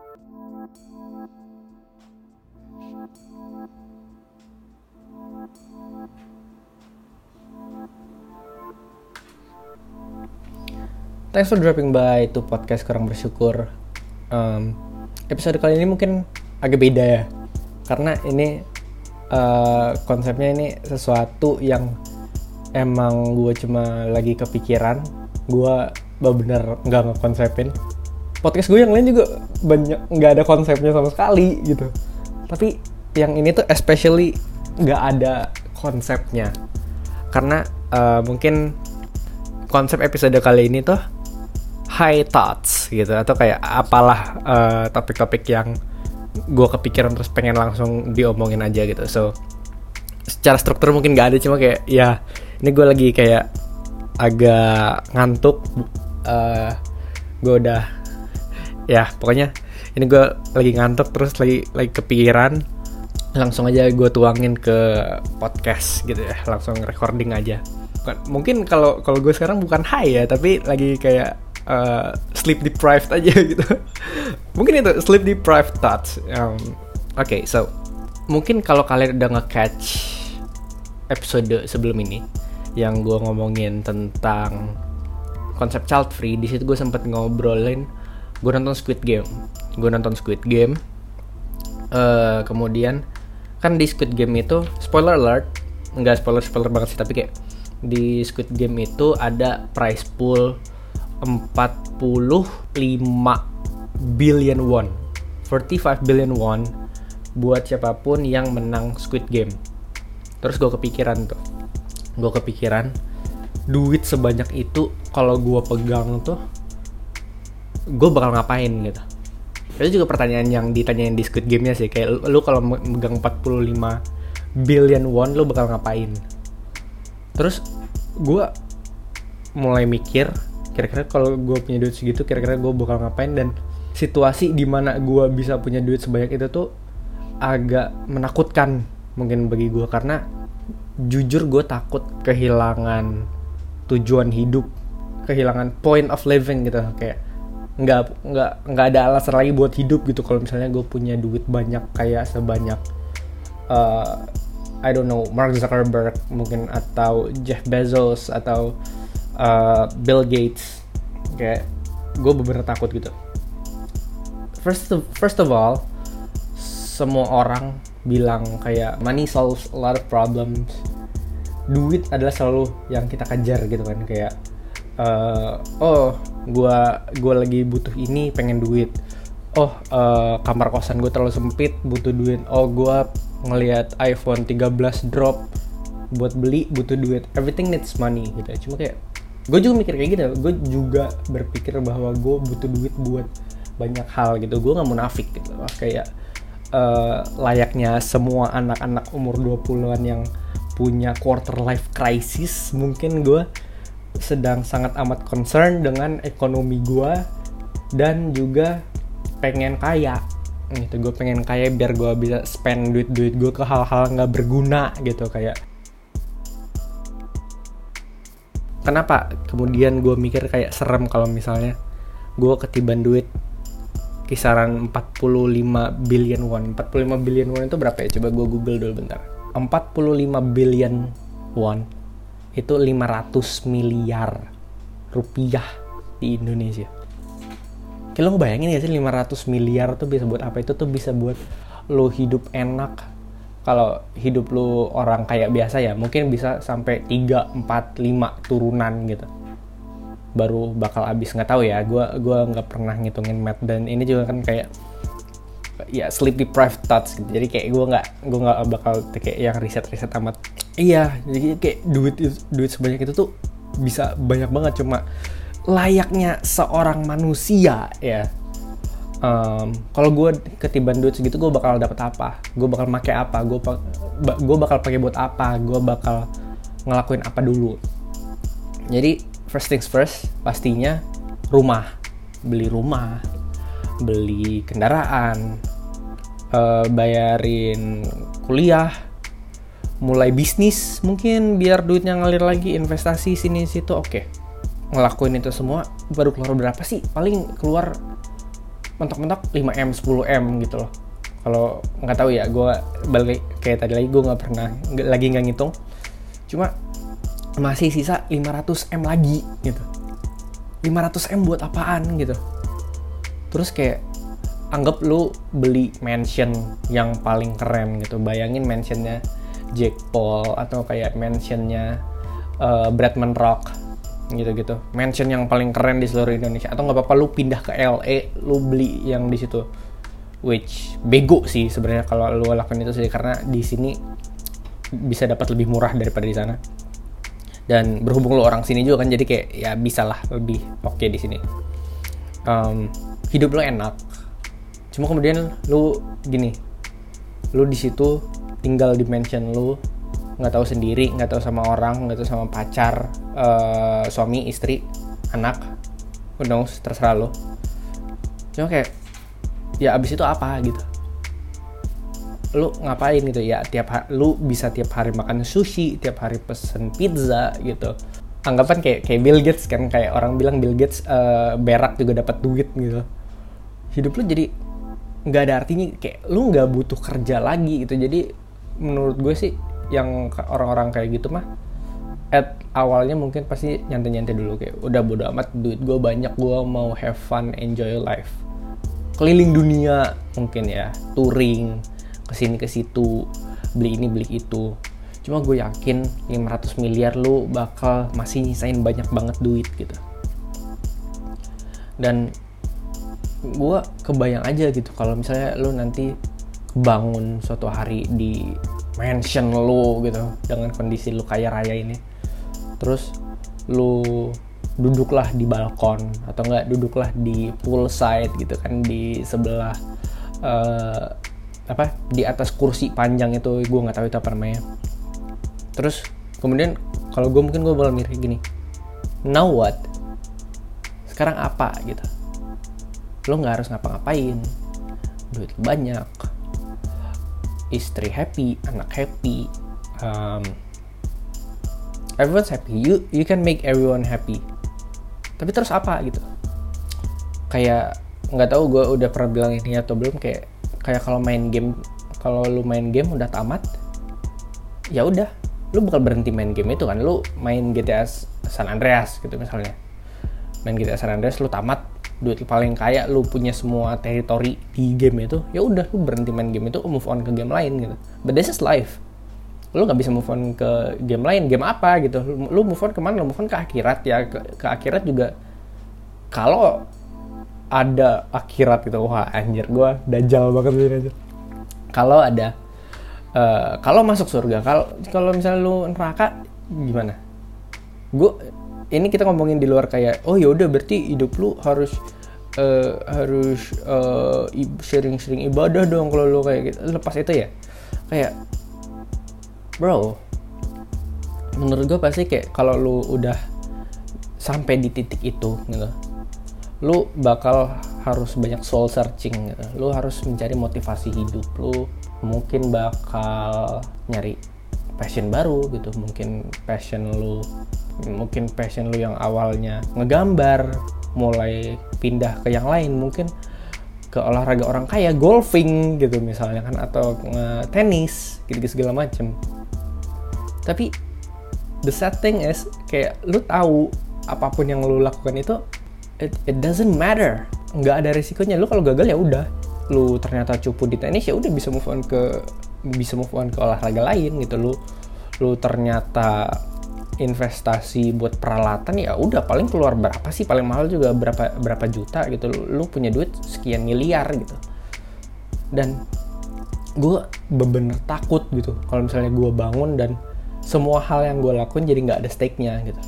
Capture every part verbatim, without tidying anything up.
Thanks for dropping by to podcast Kurang Bersyukur. Um, episode kali ini mungkin agak beda ya, karena ini uh, konsepnya ini sesuatu yang emang gue cuma lagi kepikiran. Gue bener nggak ngekonsepin. Podcast gue yang lain juga banyak nggak ada konsepnya sama sekali gitu. Tapi yang ini tuh especially nggak ada konsepnya, karena uh, mungkin konsep episode kali ini tuh high thoughts gitu, atau kayak apalah uh, topik-topik yang gue kepikiran terus pengen langsung diomongin aja gitu. So secara struktur mungkin gak ada, cuma kayak ya ini gue lagi kayak agak ngantuk, uh, gue udah ya pokoknya ini gue lagi ngantuk terus lagi lagi kepikiran, langsung aja gue tuangin ke podcast gitu ya, langsung recording aja. Mungkin kalau kalau gue sekarang bukan high ya, tapi lagi kayak uh, sleep deprived aja gitu. Mungkin itu sleep deprived thoughts. Um, Oke, okay, so mungkin kalau kalian udah nge-catch episode sebelum ini yang gue ngomongin tentang konsep child free, di situ gue sempet ngobrolin gue nonton Squid Game. Gue nonton Squid Game. Uh, kemudian kan di Squid Game itu spoiler alert, enggak spoiler spoiler banget sih, tapi kayak di Squid Game itu ada prize pool empat puluh lima billion won, forty-five billion won buat siapapun yang menang Squid Game. Terus gue kepikiran tuh, gue kepikiran duit sebanyak itu kalau gue pegang tuh, gue bakal ngapain gitu. Itu juga pertanyaan yang ditanyain di Squid Game-nya sih, kayak lu kalau megang empat puluh lima billion won lu bakal ngapain. Terus gue mulai mikir, kira-kira kalau gue punya duit segitu, kira-kira gue bakal ngapain. Dan situasi di mana gue bisa punya duit sebanyak itu tuh agak menakutkan mungkin bagi gue, karena jujur gue takut kehilangan tujuan hidup, kehilangan point of living gitu. Kayak nggak nggak nggak ada alasan lagi buat hidup gitu kalau misalnya gue punya duit banyak kayak sebanyak uh, I don't know, Mark Zuckerberg mungkin, atau Jeff Bezos, atau uh, Bill Gates. Kayak gue bener-bener takut gitu. First of, first of all, semua orang bilang kayak money solves a lot of problems. Duit adalah selalu yang kita kejar gitu kan. Kayak uh, oh gue gue lagi butuh ini, pengen duit. Oh uh, kamar kosan gue terlalu sempit, butuh duit. Oh gue ngelihat iPhone thirteen drop, buat beli butuh duit. Everything needs money gitu. Cuma kayak gue juga mikir kayak gitu. Gue juga berpikir bahwa gue butuh duit buat banyak hal gitu. Gue nggak munafik gitu. Kayak uh, layaknya semua anak-anak umur dua puluhan yang punya quarter life crisis, mungkin gue sedang sangat amat concern dengan ekonomi gue dan juga pengen kaya gitu. Gue pengen kaya biar gue bisa spend duit-duit gue ke hal-hal nggak berguna gitu. Kayak kenapa kemudian gue mikir kayak serem kalau misalnya gue ketiban duit kisaran empat puluh lima billion won. empat puluh lima billion won itu berapa ya? Coba gue google dulu bentar. empat puluh lima billion won itu lima ratus miliar rupiah di Indonesia. Kayak lo ngebayangin gak sih lima ratus miliar tuh bisa buat apa? Itu tuh bisa buat lo hidup enak. Kalau hidup lo orang kayak biasa ya mungkin bisa sampai tiga, empat, lima turunan gitu. Baru bakal habis, nggak tahu ya. Gue gua nggak pernah ngitungin math, dan ini juga kan kayak ya sleep deprived thoughts gitu. Jadi kayak gue nggak gue nggak bakal kayak yang riset-riset amat. Iya, jadi kayak duit duit sebanyak itu tuh bisa banyak banget, cuma layaknya seorang manusia ya. Um, kalau gue ketiban duit segitu, gue bakal dapet apa? Gue bakal pakai apa? Gue gue bakal pakai buat apa? Gue bakal ngelakuin apa dulu? Jadi first things first, pastinya rumah, beli rumah, beli kendaraan, uh, bayarin kuliah, mulai bisnis mungkin biar duitnya ngalir lagi, investasi sini situ. Oke, ngelakuin itu semua baru keluar berapa sih? Paling keluar mentok-mentok lima M, sepuluh M gitu loh. Kalau nggak tahu ya, gue balik kayak tadi lagi, gue nggak pernah gak, lagi nggak ngitung. Cuma masih sisa lima ratus M lagi gitu. lima ratus M buat apaan gitu. Terus kayak anggap lu beli mansion yang paling keren gitu. Bayangin mansionnya Jake Paul atau kayak mansionnya uh, Bretman Rock gitu-gitu. Mansion yang paling keren di seluruh Indonesia. Atau nggak apa-apa lu pindah ke L A, lu beli yang di situ. Which bego sih sebenarnya kalau lu lakukan itu sih, karena di sini bisa dapat lebih murah daripada di sana. Dan berhubung lu orang sini juga kan, jadi kayak ya bisa lah lebih oke okay di sini. Um, hidup lu enak. Cuma kemudian lu gini, lu di situ tinggal di mansion lu, nggak tahu sendiri, nggak tahu sama orang, nggak tahu sama pacar, uh, suami, istri, anak, who knows, terserah lu. Cuma kayak ya abis itu apa gitu, lu ngapain gitu ya, tiap hari lu bisa tiap hari makan sushi, tiap hari pesen pizza gitu. Anggapan kayak kayak Bill Gates kan, kayak orang bilang Bill Gates uh, berak juga dapat duit gitu. Hidup lu jadi nggak ada artinya, kayak lu nggak butuh kerja lagi gitu. Jadi menurut gue sih yang orang-orang kayak gitu mah at awalnya mungkin pasti nyantai-nyantai dulu, kayak udah bodo amat, duit gue banyak, gue mau have fun, enjoy life, keliling dunia mungkin ya, touring kesini ke situ, beli ini beli itu. Cuma gue yakin lima ratus miliar lu bakal masih nyisain banyak banget duit gitu. Dan gue kebayang aja gitu kalau misalnya lu nanti bangun suatu hari di mansion lu gitu dengan kondisi lu kaya raya ini, terus lu duduklah di balkon atau enggak duduklah di poolside gitu kan, di sebelah uh, apa di atas kursi panjang itu, gue nggak tahu itu apa namanya. Terus kemudian kalau gue mungkin gue bakal mikir gini, now what? Sekarang apa gitu? Lo nggak harus ngapa-ngapain, duit banyak, istri happy, anak happy, um, everyone's happy. You you can make everyone happy. Tapi terus apa gitu? Kayak nggak tahu gue udah pernah bilang ini atau belum, kayak kayak kalau main game, kalau lu main game udah tamat, ya udah, lu bakal berhenti main game itu kan. Lu main G T A San Andreas gitu misalnya, main G T A San Andreas lu tamat, duit paling kaya, lu punya semua teritori di game itu, ya udah lu berhenti main game itu, move on ke game lain gitu. But this is life. Lu nggak bisa move on ke game lain, game apa gitu. Lu move on kemana? Lu move on ke akhirat ya, ke, ke akhirat juga. Kalau ada akhirat gitu, wah anjir, gue dajal banget ini aja. Kalau ada, uh, kalau masuk surga, kalau kalau misalnya lu neraka gimana? Gue ini kita ngomongin di luar kayak, oh ya udah berarti hidup lu harus uh, harus uh, sering-sering ibadah dong kalau lu kayak gitu. Lepas itu ya, kayak bro, menurut gue pasti kayak kalau lu udah sampai di titik itu gitu, lu bakal harus banyak soul searching gitu. Lu harus mencari motivasi hidup lu, mungkin bakal nyari passion baru gitu. Mungkin passion lu mungkin passion lu yang awalnya ngegambar mulai pindah ke yang lain, mungkin ke olahraga orang kaya, golfing gitu misalnya kan, atau tenis gitu-gitu segala macem. Tapi the sad thing is kayak lu tahu apapun yang lu lakukan itu it, it doesn't matter, nggak ada risikonya. Lu kalau gagal ya udah, lu ternyata cupu di tenis ya udah, bisa move on ke bisa move on ke olahraga lain gitu. Lu lu ternyata investasi buat peralatan, ya udah paling keluar berapa sih, paling mahal juga berapa berapa juta gitu. Lu, lu punya duit sekian miliar gitu. Dan gue bener-bener takut gitu kalau misalnya gue bangun dan semua hal yang gue lakuin jadi nggak ada stake-nya gitu.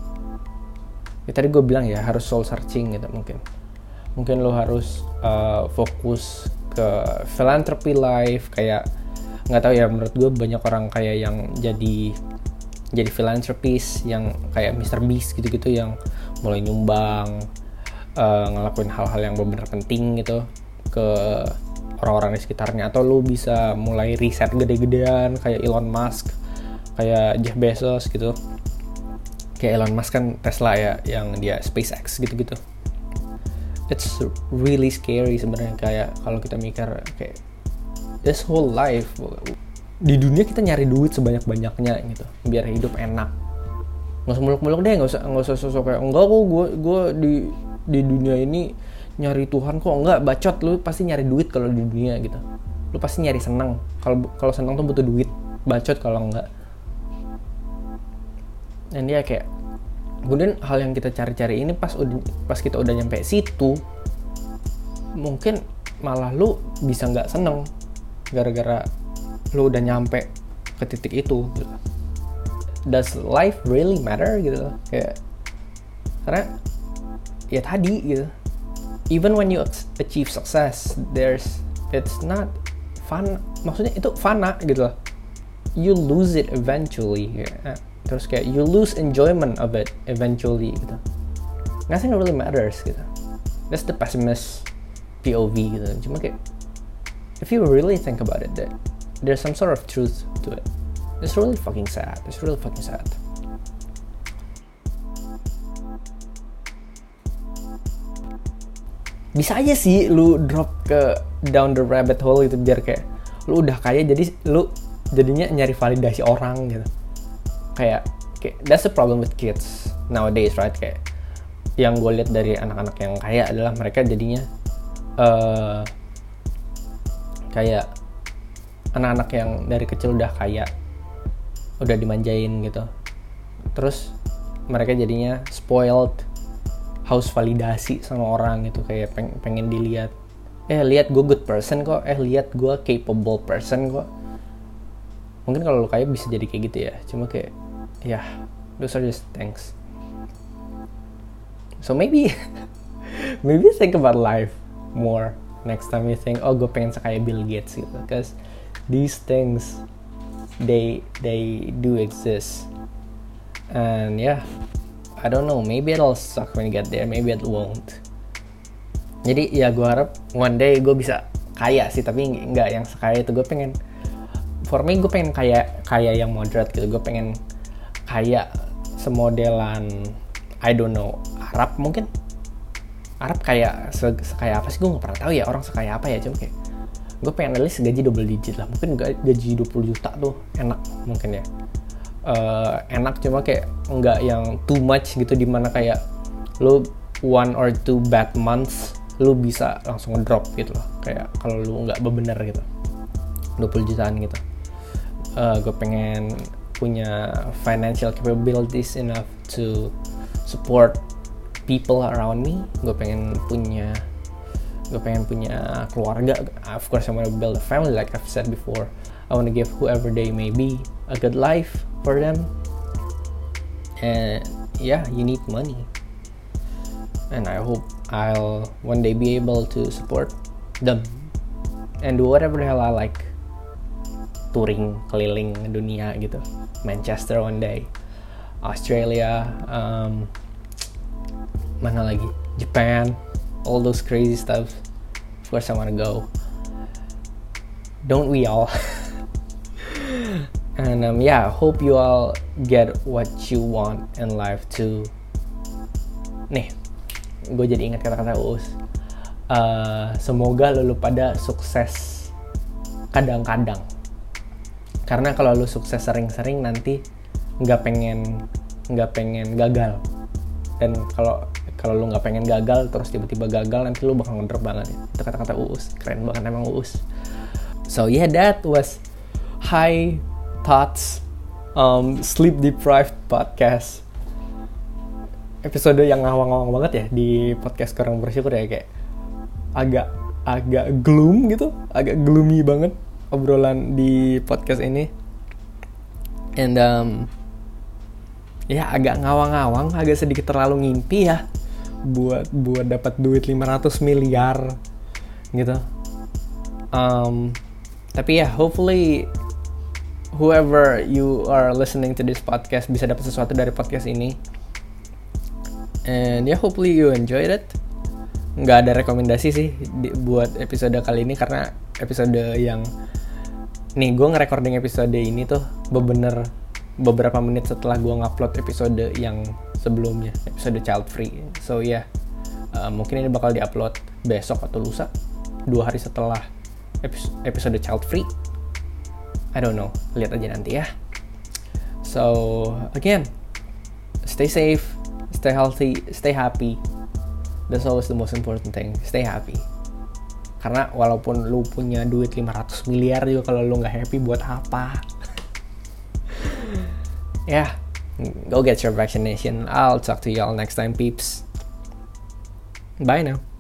Ya, tadi gue bilang ya harus soul searching gitu. Mungkin mungkin lo harus uh, fokus ke philanthropy life, kayak nggak tahu ya, menurut gue banyak orang kayak yang jadi jadi philanthropist yang kayak mister Beast gitu-gitu, yang mulai nyumbang, uh, ngelakuin hal-hal yang benar-benar penting gitu ke orang-orang di sekitarnya. Atau lo bisa mulai riset gede-gedean kayak Elon Musk, kayak Jeff Bezos gitu. Kayak Elon Musk kan Tesla ya, yang dia SpaceX gitu-gitu. it's really scary sebenarnya. Kayak kalau kita mikir kayak this whole life di dunia kita nyari duit sebanyak-banyaknya gitu biar hidup enak. Nggak usah muluk-muluk deh, nggak usah nggak usah sosok kayak enggak kok gue gue di di dunia ini nyari Tuhan kok. Enggak, bacot, lu pasti nyari duit kalau di dunia gitu. Lu pasti nyari senang. Kalau kalau senang tuh butuh duit. Bacot kalau enggak. Dan dia kayak kemudian hal yang kita cari-cari ini pas udah pas kita udah nyampe situ, mungkin malah lu bisa nggak seneng gara-gara lu udah nyampe ke titik itu gitu. Does life really matter gitu? Kayak karena ya tadi gitu, even when you achieve success, there's it's not fun. Maksudnya itu fana gitu loh. You lose it eventually. Kayak, terus kayak you lose enjoyment of it eventually gitu. Nothing really matters gitu. That's the pessimist P O V gitu. Cuma kayak if you really think about it, that there's some sort of truth to it. It's really fucking sad. It's really fucking sad. Bisa aja sih lu drop ke down the rabbit hole gitu biar kayak lu udah kaya jadi lu jadinya nyari validasi orang gitu. Kayak, kayak that's the problem with kids nowadays, right? Kayak yang gue lihat dari anak-anak yang kaya adalah mereka jadinya uh, kayak anak-anak yang dari kecil udah kaya, udah dimanjain gitu. Terus mereka jadinya spoiled, haus validasi sama orang gitu, kayak peng- pengen dilihat. Eh lihat gue good person kok, eh lihat gue capable person kok. Mungkin kalau lu kaya bisa jadi kayak gitu ya. Cuma kayak ya, yeah, those are just things. So maybe maybe think about life more next time you think, oh gue pengen sekaya Bill Gates gitu. Because these things they they do exist. And yeah, I don't know, maybe it'll suck when you get there, maybe it won't. Jadi ya gue harap one day gue bisa kaya sih, tapi nggak yang sekaya itu. Gue pengen, for me gue pengen kaya kaya yang moderate gitu. Gue pengen kaya semodelan, I don't know, Arab mungkin. Arab kayak se- sekaya apa sih gue nggak pernah tahu ya, orang sekaya apa ya. Cuma kayak gue pengen at least gaji double digit lah, mungkin gaji dua puluh juta tuh enak mungkin ya. Uh, enak cuma kayak nggak yang too much gitu, dimana kayak lu one or two bad months lu bisa langsung ngedrop gitu loh, kayak kalau lu nggak bebener gitu, dua puluh jutaan gitu. Uh, gue pengen punya financial capabilities enough to support people around me. Gue pengen punya gue pengen punya keluarga. Of course I want to build a family like I've said before. I want to give whoever they may be a good life for them. And yeah, you need money. And I hope I'll one day be able to support them and do whatever the hell I like. Touring keliling dunia gitu. Manchester one day, Australia, um, mana lagi? Japan, all those crazy stuff. Of course I wanna go. Don't we all? And um, yeah, hope you all get what you want in life too. Nih, gue jadi ingat kata-kata Uus. Uh, semoga lu pada sukses kadang-kadang. Karena kalau lu sukses sering-sering nanti nggak pengen nggak pengen gagal. Dan kalau kalau lu nggak pengen gagal terus tiba-tiba gagal, nanti lu bakal ngedrop banget. Itu kata-kata Uus, keren banget emang Uus. So yeah, that was High Thoughts um, Sleep Deprived Podcast. Episode yang ngawang-ngawang banget ya di podcast Kurang Bersyukur ya, kayak agak agak gloom gitu, agak gloomy banget obrolan di podcast ini. And um, ya agak ngawang-ngawang, agak sedikit terlalu ngimpi ya buat buat dapat duit lima ratus miliar gitu. Um, tapi ya hopefully whoever you are listening to this podcast bisa dapat sesuatu dari podcast ini. And ya yeah, hopefully you enjoyed it. Nggak ada rekomendasi sih di, buat episode kali ini, karena episode yang nih gue nge-recording episode ini tuh bener beberapa menit setelah gue ngupload episode yang sebelumnya, episode child free. So ya yeah, Uh, mungkin ini bakal diupload besok atau lusa, dua hari setelah episode Child Free. I don't know, lihat aja nanti ya. So again, stay safe, stay healthy, stay happy. That's always the most important thing. Stay happy. Karena walaupun lu punya duit lima ratus miliar juga, kalau lu nggak happy buat apa? Ya, yeah, go get your vaccination. I'll talk to y'all next time, peeps. Bye now.